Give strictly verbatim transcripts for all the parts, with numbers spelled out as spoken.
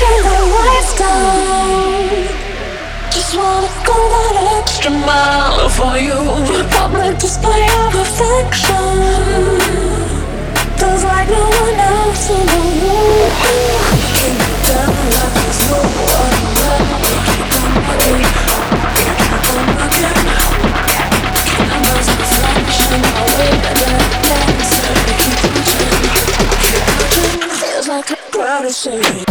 till the lights down. Just wanna go that extra mile for you. Public display of affection. Feels like no one else in the room. Can you tell me like there's no one left? Keep on looking, keep on looking. Numbers of reflection, I wait and then dance and keep pushing, keep pushing. Feels like a crowd is singing.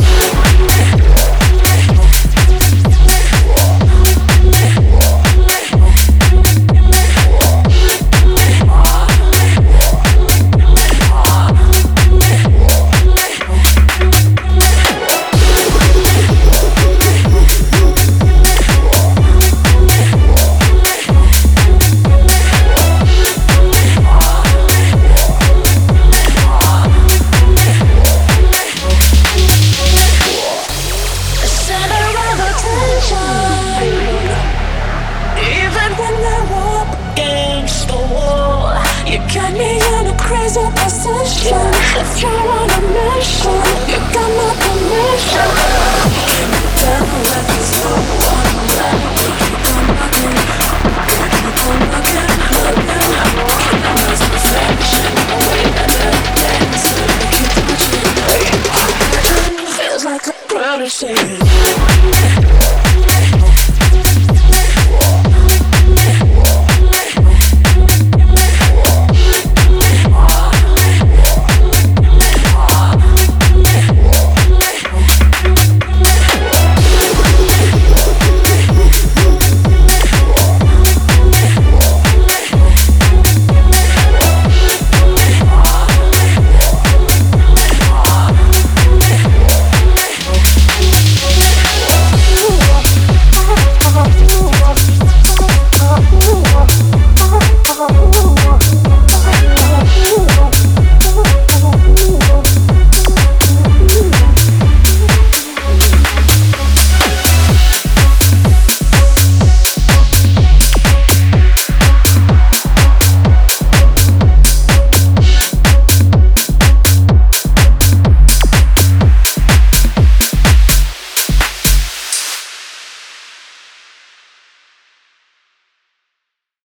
If you're on a mission, you got my permission. Can you tell me that there's no one left? Keep on looking, keep on looking, looking. Numbers of reflection, wait and then dance and keep pushing, keep pushing. Feels like a crowd is singing.